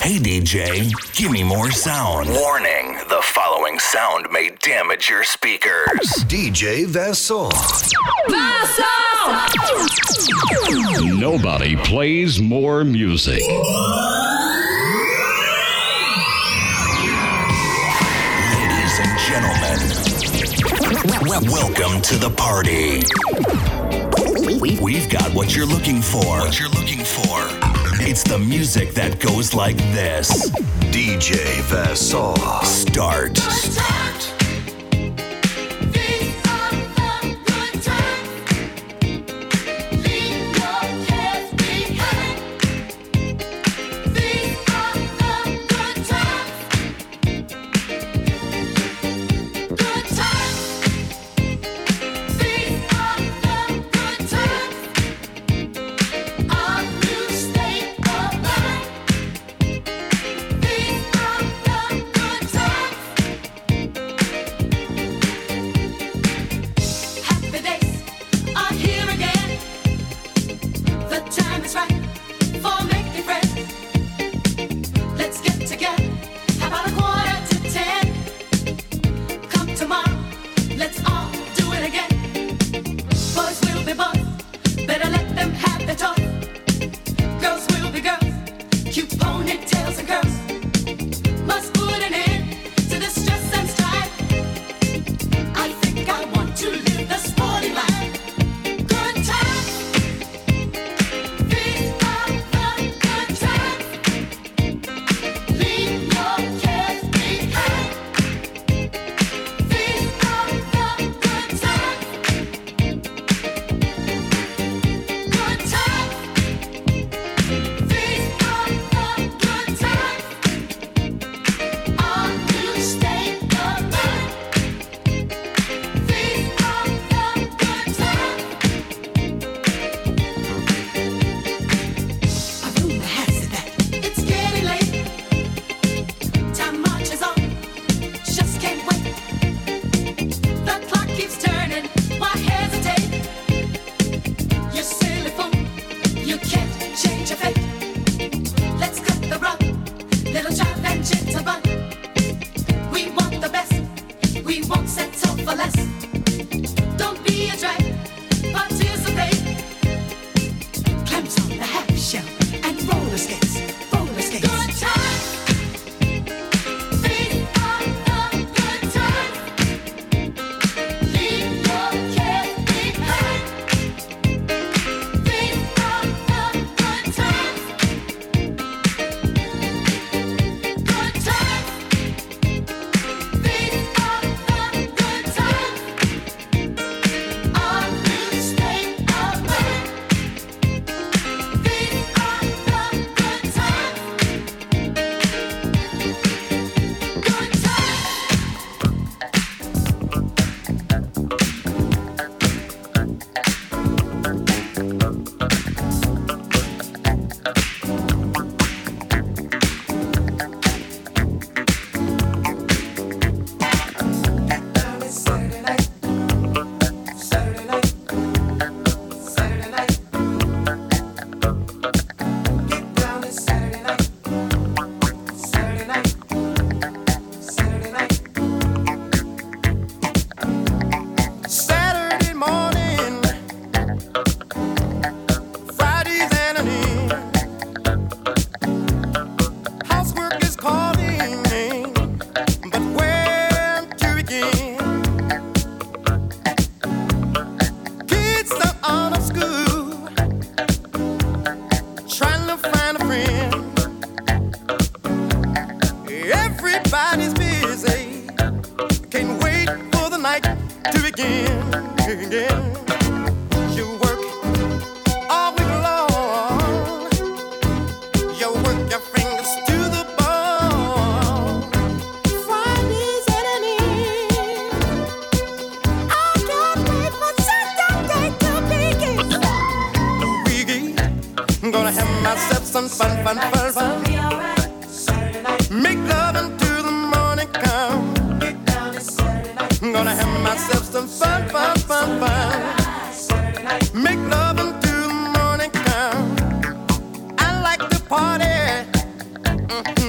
Hey DJ, give me more sound. Warning, the following sound may damage your speakers. DJ Vassal. Nobody plays more music. Ladies and gentlemen, welcome to the party. We've got what you're looking for. It's the music that goes like this. DJ Vassal. Start. Make love until the morning come. I like to party.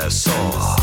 Vasson.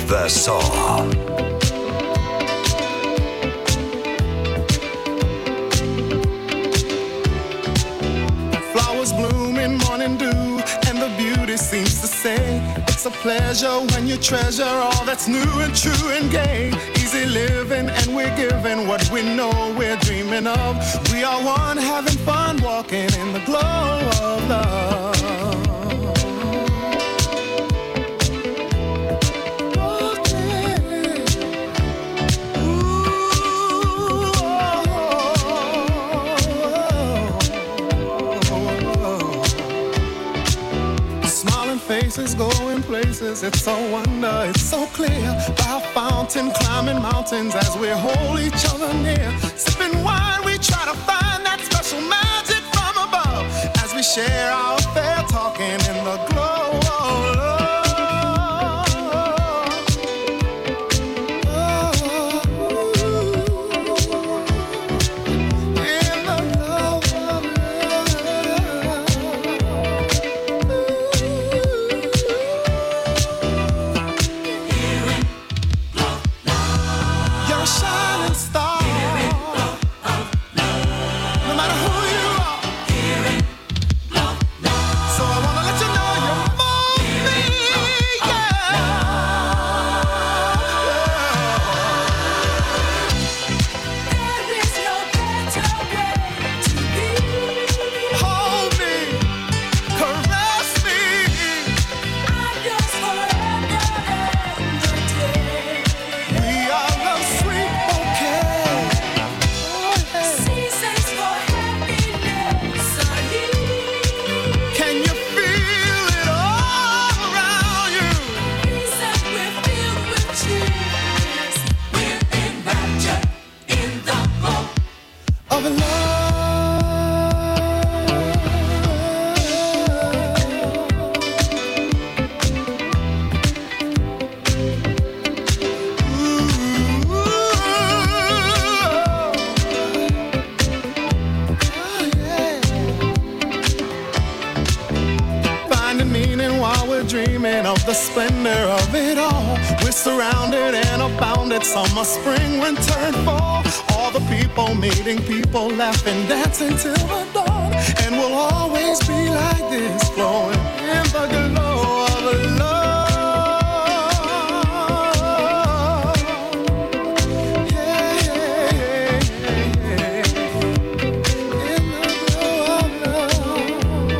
Vassaw. Flowers bloom in morning dew, and the beauty seems to say, it's a pleasure when you treasure all that's new and true and gay. Easy living, and we're giving what we know we're dreaming of. We are one, having fun, walking in the glow of love. Faces going places, it's a wonder, it's so clear. By a fountain, climbing mountains as we hold each other near. Sipping wine, we try to find that special magic from above. As we share our affair, talking in the glow of love. The splendor of it all. We're surrounded and abounded. Summer, spring, winter, and fall. All the people meeting people, laughing, dancing till the dawn. And we'll always be like this, flowing in the glow of love. Yeah, yeah, yeah, yeah. In the glow of love.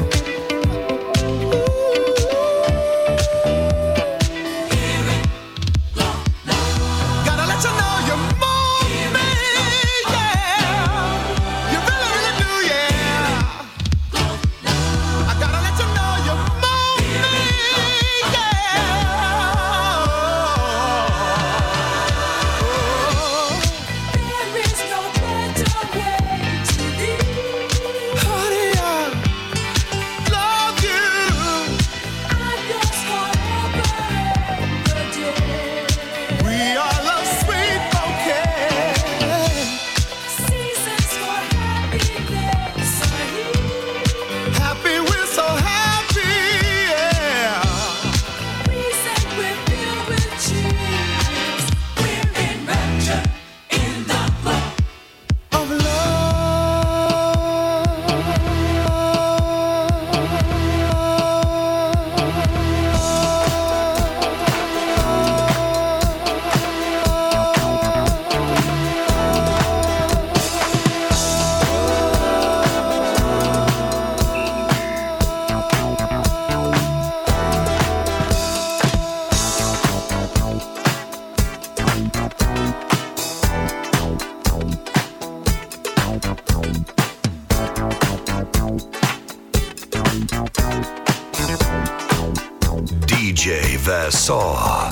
DJ Vassaw.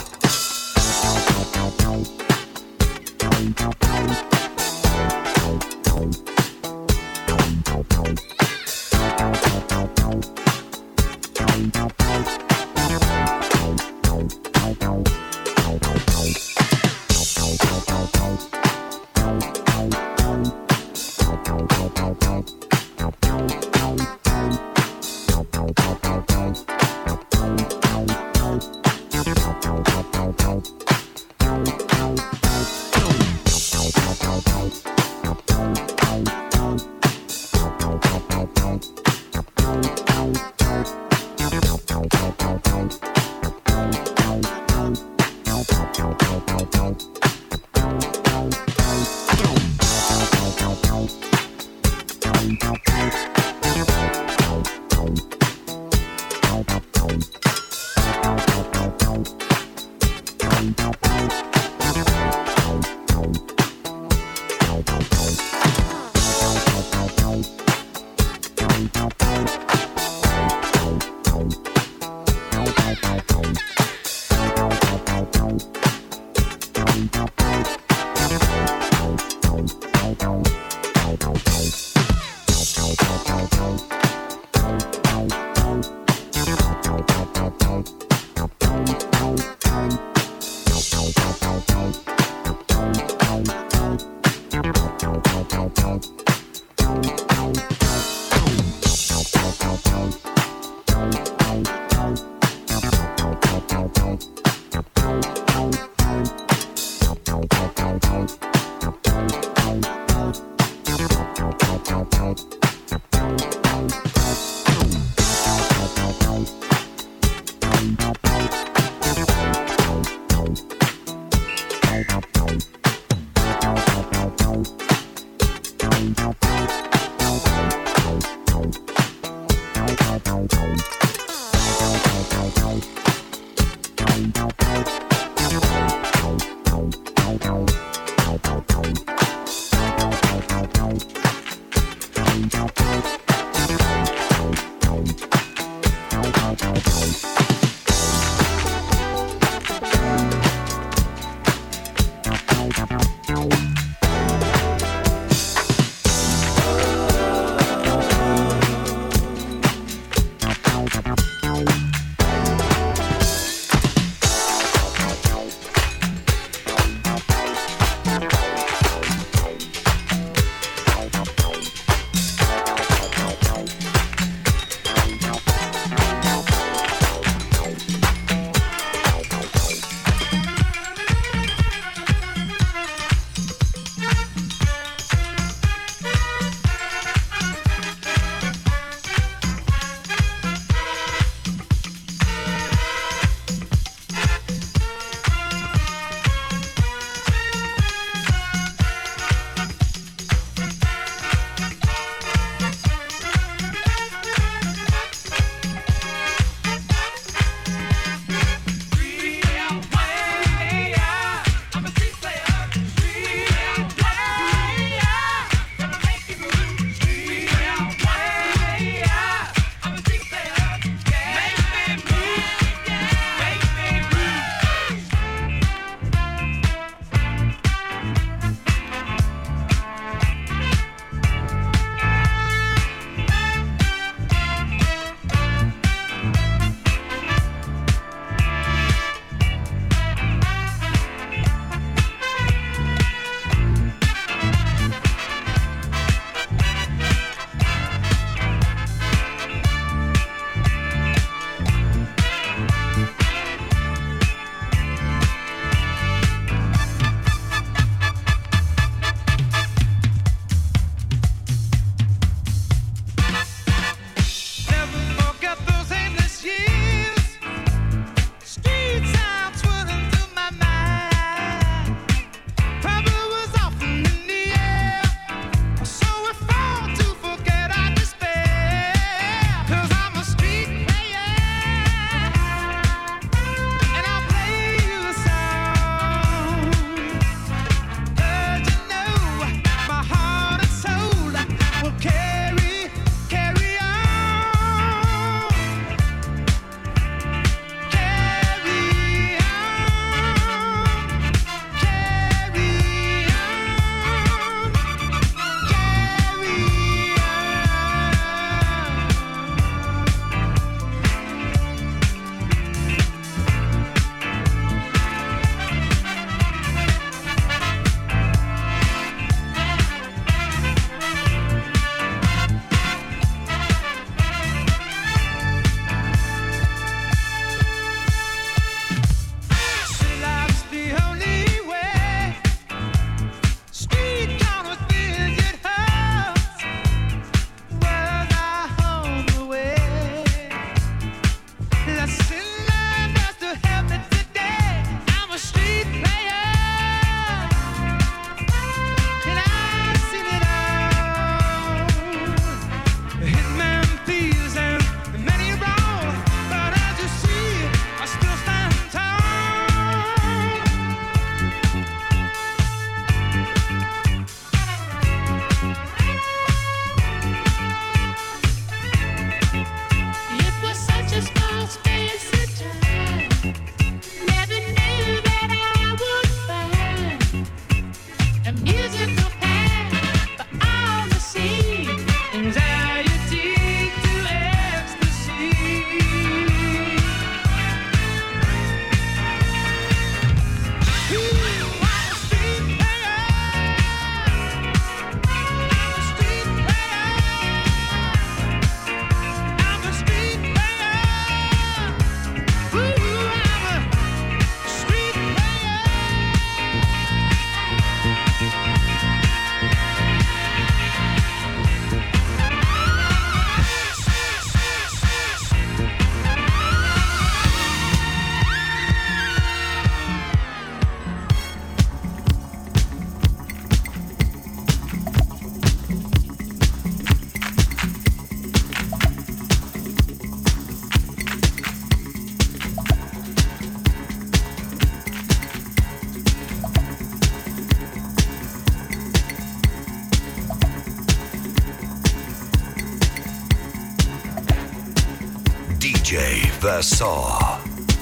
DJ Versailles.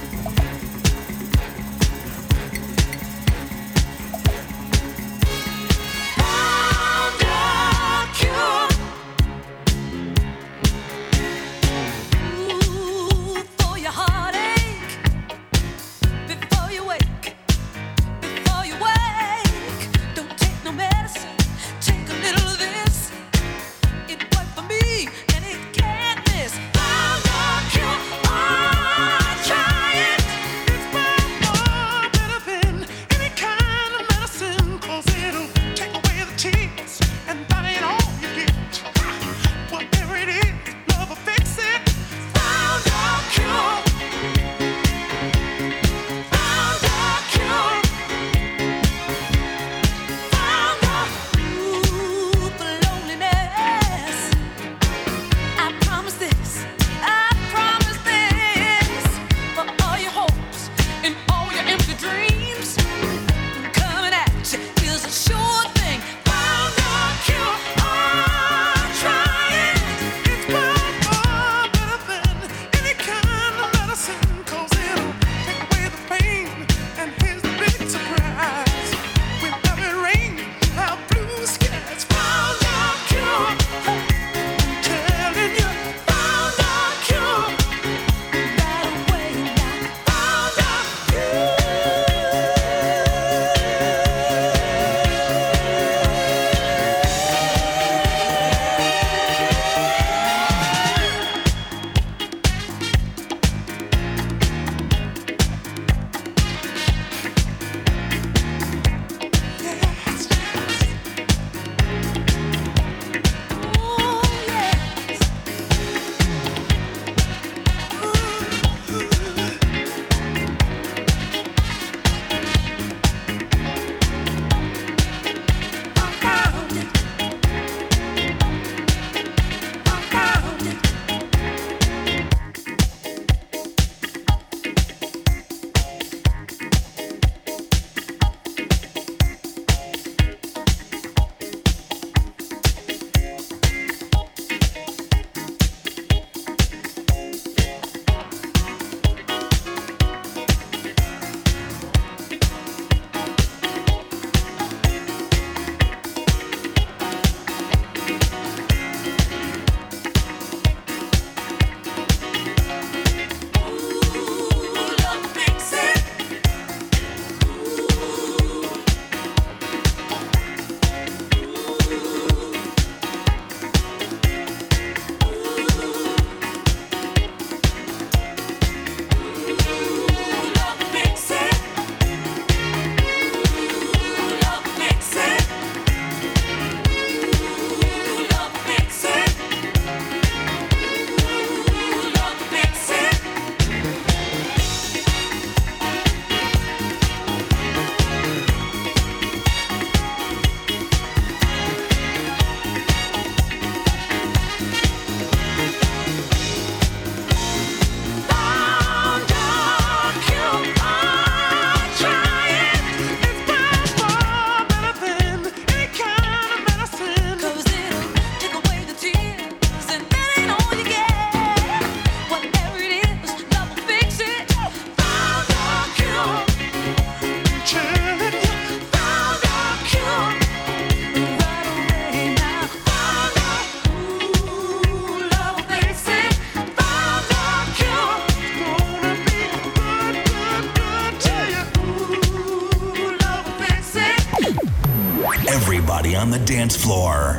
Everybody on the dance floor.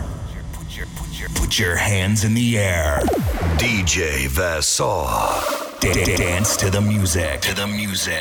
Put your hands in the air. DJ Versailles. Dance to the music. To the music.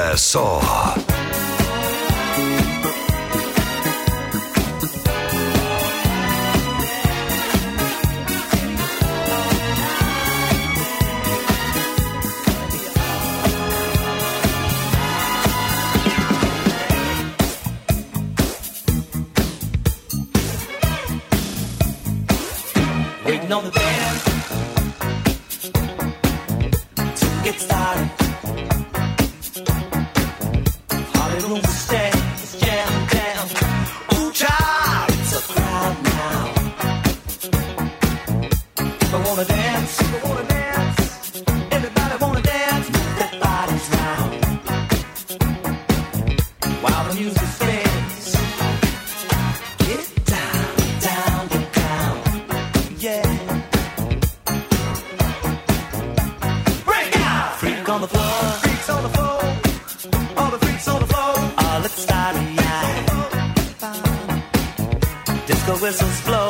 Vassar. Waiting on the band to get started. Party room to stay, it's jamming down. Ooh, child, it's a crowd now. People wanna dance, everybody wanna dance, move their bodies round. While the music plays, get down, down, get down, yeah. Break out! Freak on the floor, freaks on the floor, all the freaks on the floor. Oh, let's start a yard. Disco whistles blow.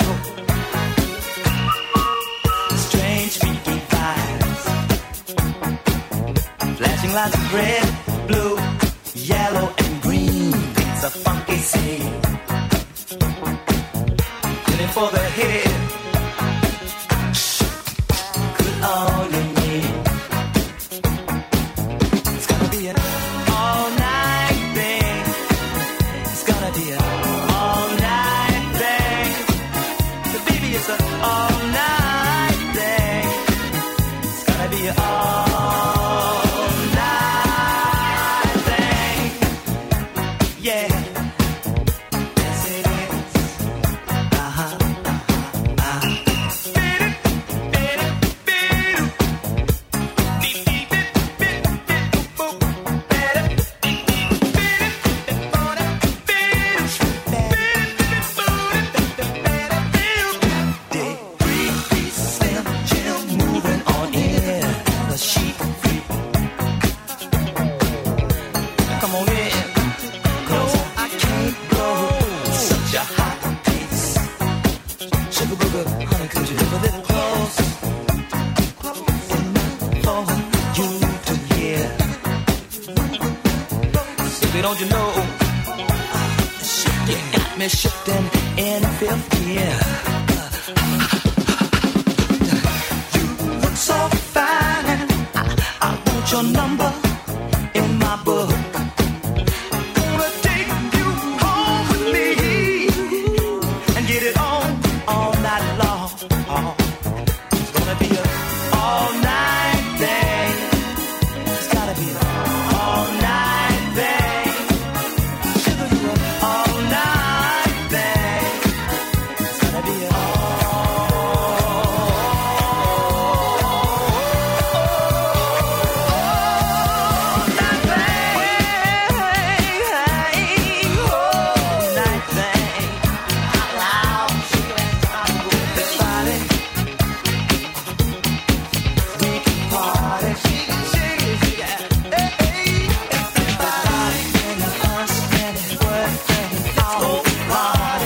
Strange freaky vibes. Flashing lights of red, blue, yellow, and green. It's a funky scene. Looking for the hit. Good all you need. It's gonna be an all-night thing. It's gonna be an all-night thing. But baby, it's an all-night thing. It's gonna be an all-night thing. Yeah. Yes, it is. Uh-huh. Come on in, 'cause I can't go such a hot pace. Sugar booger, honey, could you live a little close? For you to hear. Baby, don't you know? You got me shifting in fifth gear. You look so fine. I want your number in my book. Gonna take you home with me and get it on all night long. It's gonna be an all-night thing. It's gotta be an all-night thing. Sugar, you an all-night thing. It's gonna be an all-night thing. Out loud. This body, we can party. Everybody in the us and it work and it all party.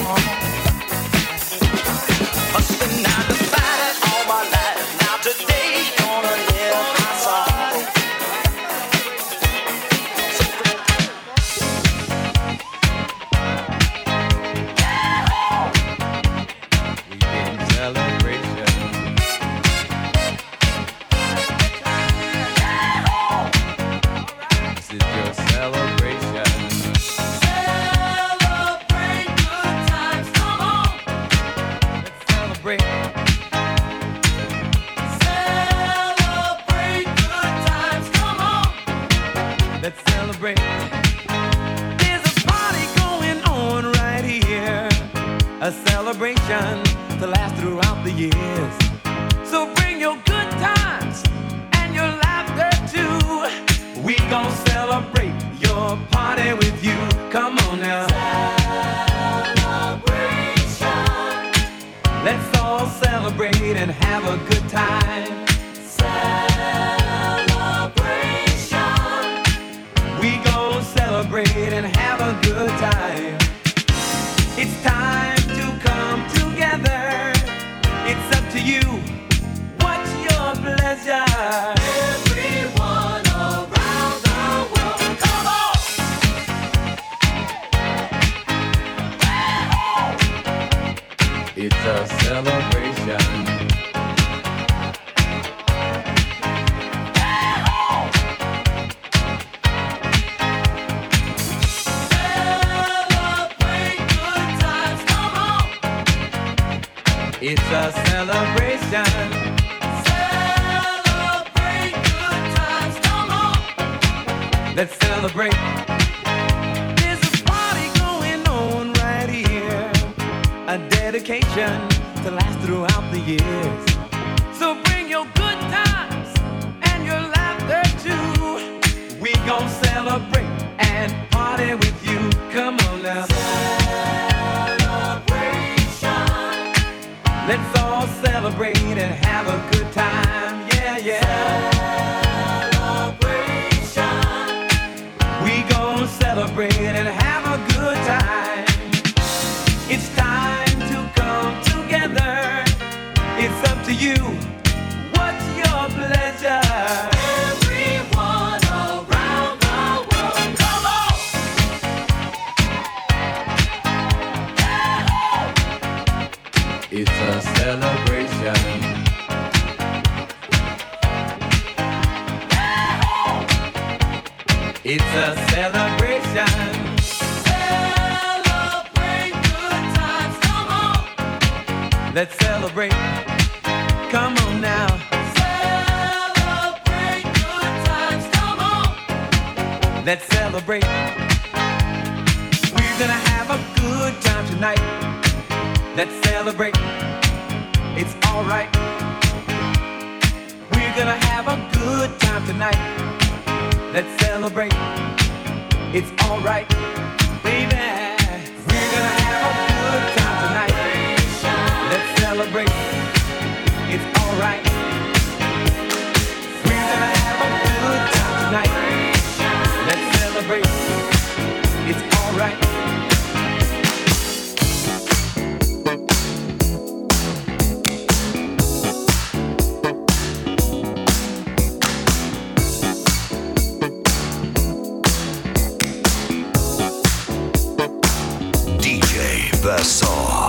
Hustling 9 to 5 all my life. Now today gonna live my song. This is your celebration. Celebrate good times, come on. Celebrate. Celebrate good times, come on. Let's celebrate. There's a party going on right here. A celebration to last throughout the years. So bring your good times and your laughter too. We gon' celebrate your party with you. Come on now. Celebration. Let's all celebrate and have a good time. Celebration. We gon' celebrate and have a good time. It's time to come together. It's up to you. What's your pleasure? Everyone around the world, come on. It's a celebration. It's a celebration. Celebrate good times, come on. Let's celebrate. There's a party going on right here. A dedication to last throughout the years. So bring your good times and your laughter too. We gon' celebrate and party with you. Come on now. Let's all celebrate and have a good time, yeah, yeah. Celebration. We gon' celebrate and have a good time. It's time to come together. It's up to you. What's your pleasure? Everyone around the world, come on! It's a celebration. It's a celebration. Celebrate good times, come on. Let's celebrate. Come on now. Celebrate good times, come on. Let's celebrate. We're gonna have a good time tonight. Let's celebrate. It's alright. We're gonna have a good time tonight. Let's celebrate. It's alright, baby. We're gonna have a good time tonight. Let's celebrate. It's alright. We're gonna have a good time tonight. Let's celebrate. It's alright. Versailles.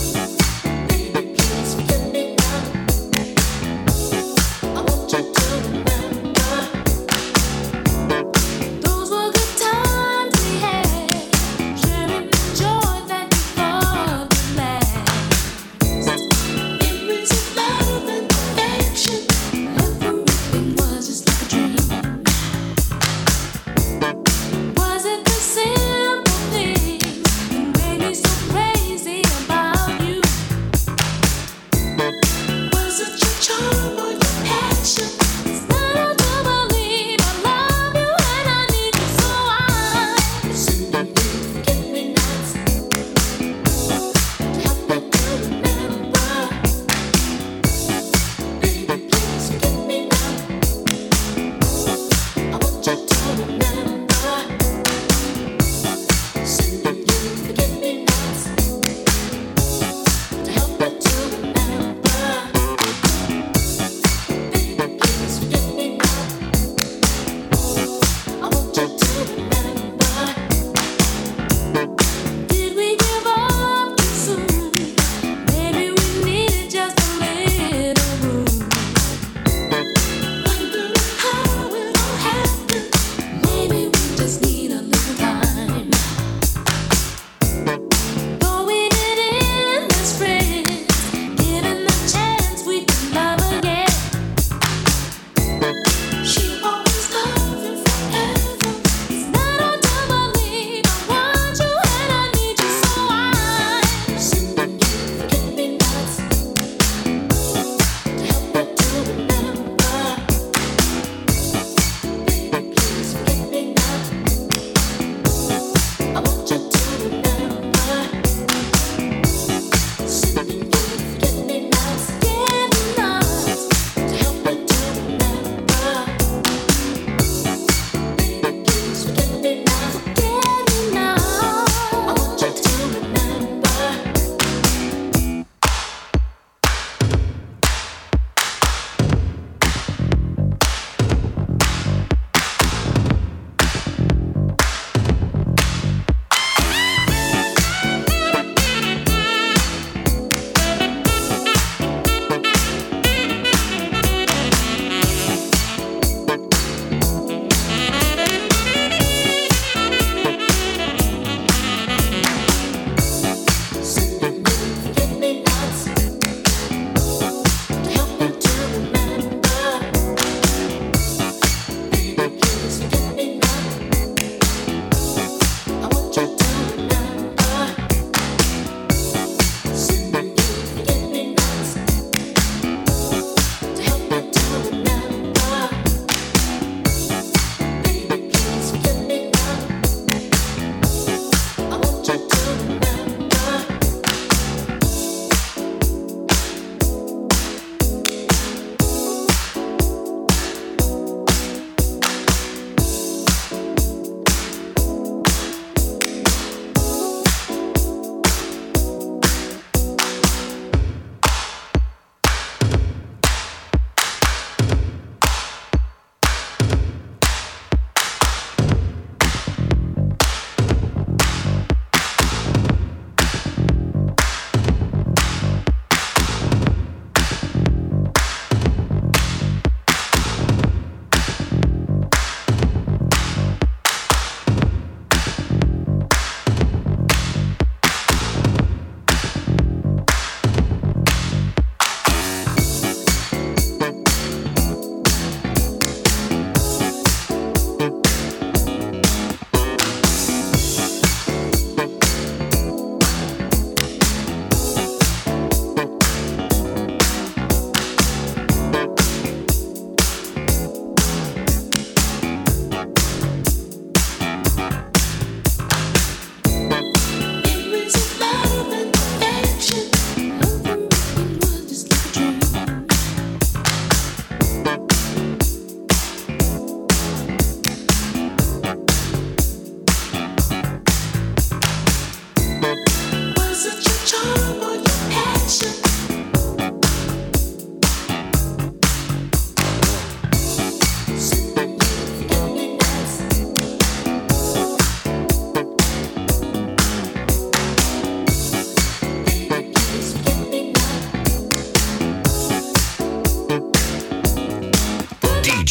I want you to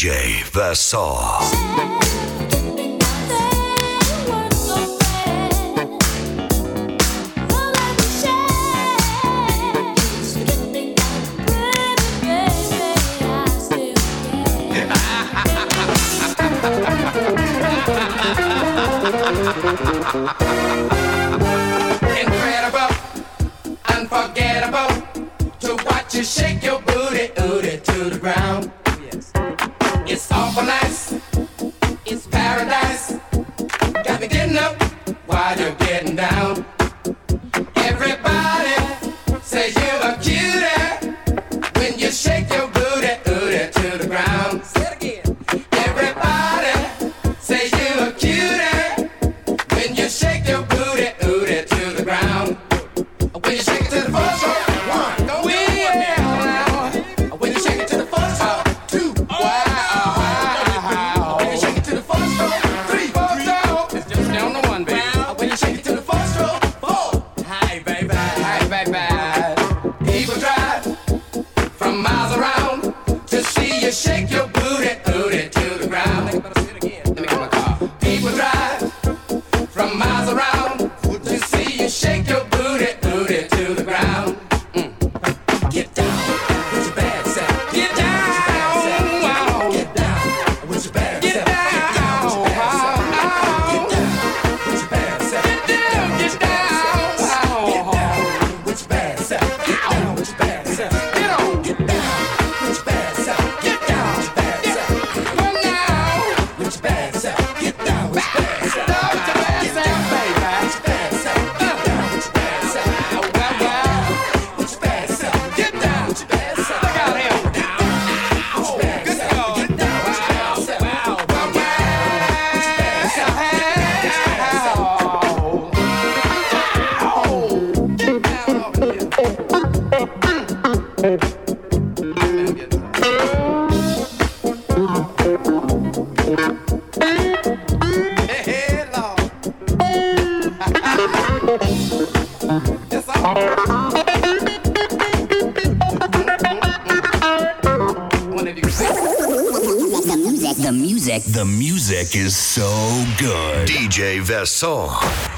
DJ Versailles. Incredible, unforgettable, to watch you shake your booty, booty to the ground. Yes. It's awful nice, it's paradise. Got me getting up while you're getting down. Everybody says you're a cutie when you shake your booty, booty to the ground. Say it again. Everybody says you're a cutie when you shake your booty, booty to the ground. When you shake it to the first row, one, go now. When you shake it to the first row, two, wow. When you shake it to the first row, three, it's just down to one, baby. When you shake it to the first row, four, hi, baby. People drive from miles around to see you shake your booty, booty to the ground. Let me get my car. People drive from miles around to see you shake your booty, booty to the ground. Get down with your bad self. Get down, wow. Get down with your bad self. Get down, wow. Get down with your bad self. Get down, wow. Get down with your bad self. Get down with your bad self. Get on, get down with your bad self. Get down with your bad self. Come now with your bad self. Get down with your bad self. Get down with your bad self, baby. With your bad self. Get down with your bad self. With your bad self. Get down with your bad self. Look out here. Good dog. Get down with your bad self. Wow. With your bad self. Get down over here. Hey, Lord. That's all. One of you sing. The music is so good. DJ Versailles.